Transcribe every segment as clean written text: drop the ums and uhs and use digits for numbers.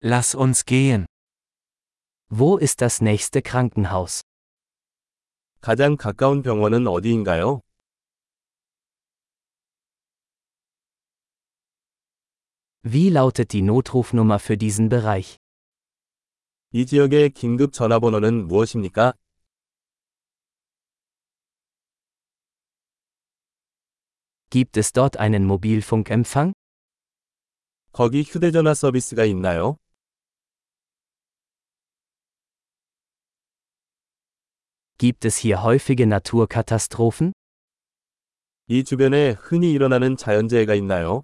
Lass uns gehen. Wo ist das nächste Krankenhaus? 가장 가까운 병원은 어디인가요? Wie lautet die Notrufnummer für diesen Bereich? 이 지역의 긴급 전화번호는 무엇입니까? Gibt es dort einen Mobilfunkempfang? 거기 휴대전화 서비스가 있나요? Gibt es hier häufige Naturkatastrophen? 이 주변에 흔히 일어나는 자연재해가 있나요?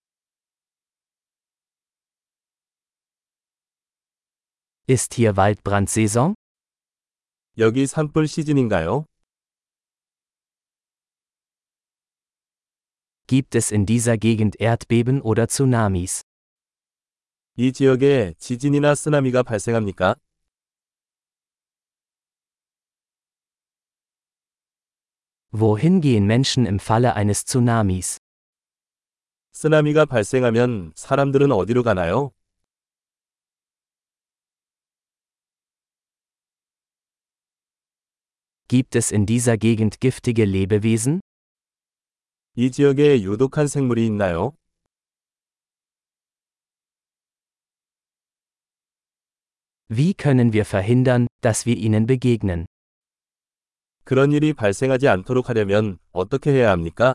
Ist hier Waldbrandsaison? 여기 산불 시즌인가요? Gibt es in dieser Gegend Erdbeben oder Tsunamis? 이 지역에 지진이나 쓰나미가 발생합니까? Wohin gehen Menschen im Falle eines Tsunamis? 쓰나미가 발생하면 사람들은 어디로 가나요? Gibt es in dieser Gegend giftige Lebewesen? 이 지역에 유독한 생물이 있나요? Wie können wir verhindern, dass wir ihnen begegnen? 그런 일이 발생하지 않도록 하려면 어떻게 해야 합니까?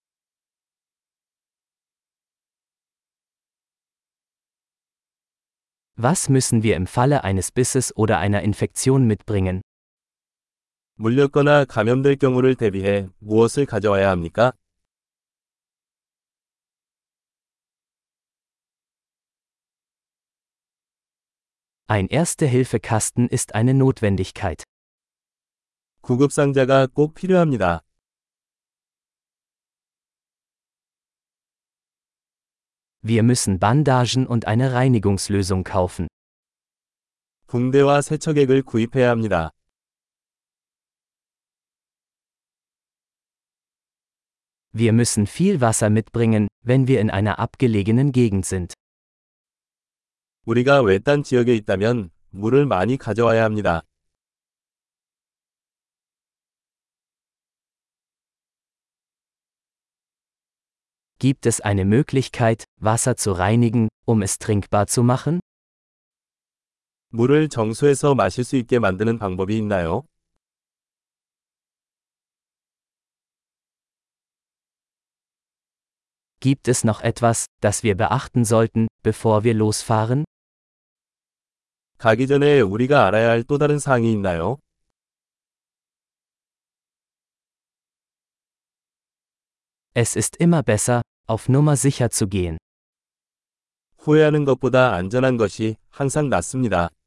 Was müssen wir im Falle eines Bisses oder einer Infektion mitbringen? 물렸거나 감염될 경우를 대비해 무엇을 가져와야 합니까? Ein Erste-Hilfe-Kasten ist eine Notwendigkeit. 구급상자가 꼭 필요합니다. Wir müssen Bandagen und eine Reinigungslösung kaufen. 붕대와 세척액을 구입해야 합니다. Wir müssen viel Wasser mitbringen, wenn wir in einer abgelegenen Gegend sind. 우리가 외딴 지역에 있다면 물을 많이 가져와야 합니다. Gibt es eine Möglichkeit, Wasser zu reinigen, um es trinkbar zu machen? 물을 정수해서 마실 수 있게 만드는 방법이 있나요? Gibt es noch etwas, das wir beachten sollten, bevor wir losfahren? 가기 전에 우리가 알아야 할 또 다른 사항이 있나요? Es ist immer besser, auf Nummer sicher zu gehen. 후회하는 것보다 안전한 것이 항상 낫습니다.